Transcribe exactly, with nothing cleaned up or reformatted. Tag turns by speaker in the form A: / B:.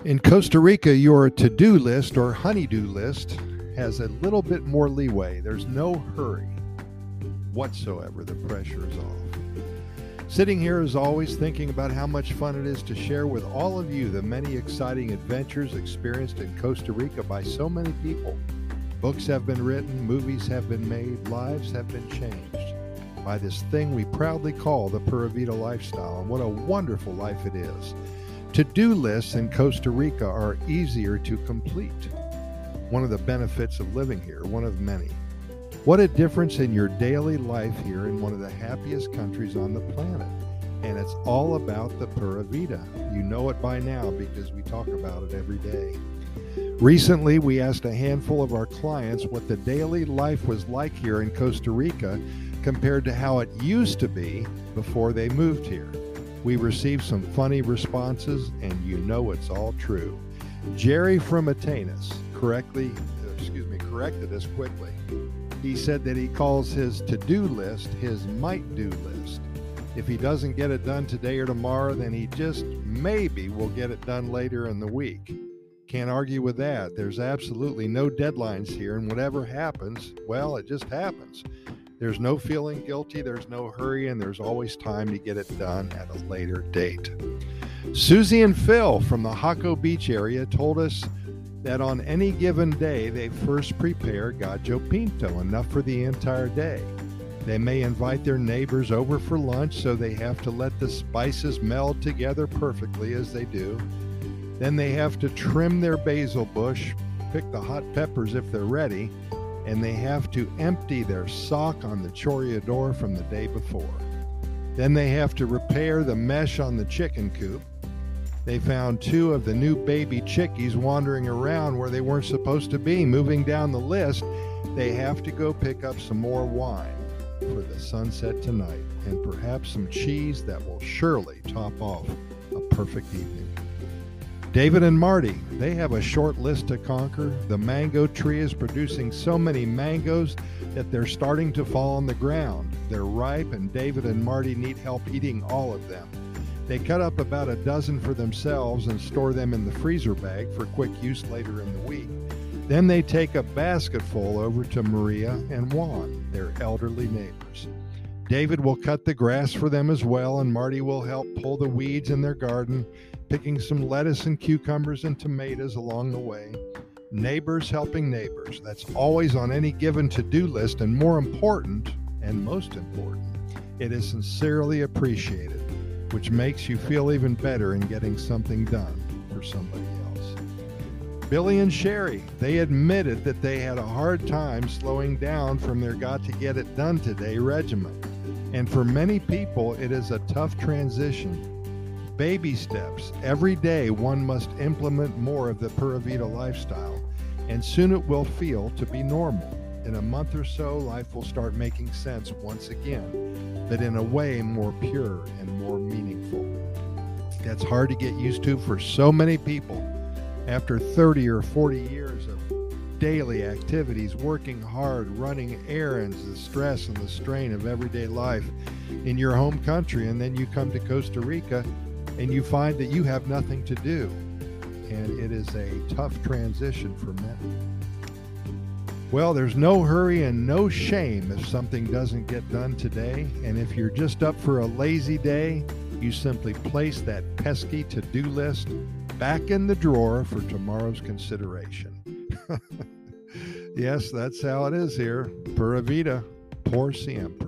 A: In Costa Rica, your to-do list or honey-do list has a little bit more leeway. There's no hurry whatsoever. The pressure is off. Sitting here as always thinking about how much fun it is to share with all of you the many exciting adventures experienced in Costa Rica by so many people. Books have been written, movies have been made, lives have been changed by this thing we proudly call the Pura Vida lifestyle, and what a wonderful life it is. To-do lists in Costa Rica are easier to complete. One of the benefits of living here, one of many. What a difference in your daily life here in one of the happiest countries on the planet. And it's all about the Pura Vida. You know it by now because we talk about it every day. Recently, we asked a handful of our clients what the daily life was like here in Costa Rica compared to how it used to be before they moved here. We received some funny responses, and you know it's all true. Jerry from Atenas correctly, excuse me, corrected us quickly. He said that he calls his to-do list his might-do list. If he doesn't get it done today or tomorrow, then he just maybe will get it done later in the week. Can't argue with that. There's absolutely no deadlines here, and whatever happens, well, it just happens. There's no feeling guilty, there's no hurry, and there's always time to get it done at a later date. Susie and Phil from the Jaco Beach area told us that on any given day, they first prepare gallo pinto, enough for the entire day. They may invite their neighbors over for lunch, so they have to let the spices meld together perfectly as they do. Then they have to trim their basil bush, pick the hot peppers if they're ready, and they have to empty their sock on the chorreador from the day before. Then they have to repair the mesh on the chicken coop. They found two of the new baby chickies wandering around where they weren't supposed to be. Moving down the list, they have to go pick up some more wine for the sunset tonight, and perhaps some cheese that will surely top off a perfect evening. David and Marty, they have a short list to conquer. The mango tree is producing so many mangoes that they're starting to fall on the ground. They're ripe, and David and Marty need help eating all of them. They cut up about a dozen for themselves and store them in the freezer bag for quick use later in the week. Then they take a basketful over to Maria and Juan, their elderly neighbors. David will cut the grass for them as well, and Marty will help pull the weeds in their garden, picking some lettuce and cucumbers and tomatoes along the way. Neighbors helping neighbors. That's always on any given to-do list, and more important, and most important, it is sincerely appreciated, which makes you feel even better in getting something done for somebody else. Billy and Sherry, they admitted that they had a hard time slowing down from their got-to-get-it-done-today regimen. And for many people, it is a tough transition. Baby steps. Every day, one must implement more of the Pura Vida lifestyle, and soon it will feel to be normal. In a month or so, life will start making sense once again, but in a way more pure and more meaningful. That's hard to get used to for so many people. After thirty or forty years of daily activities, working hard, running errands, the stress and the strain of everyday life in your home country, and then you come to Costa Rica and you find that you have nothing to do. And it is a tough transition for many. Well, there's no hurry and no shame if something doesn't get done today. And if you're just up for a lazy day, you simply place that pesky to-do list back in the drawer for tomorrow's consideration. Yes, that's how it is here. Pura Vida, por siempre.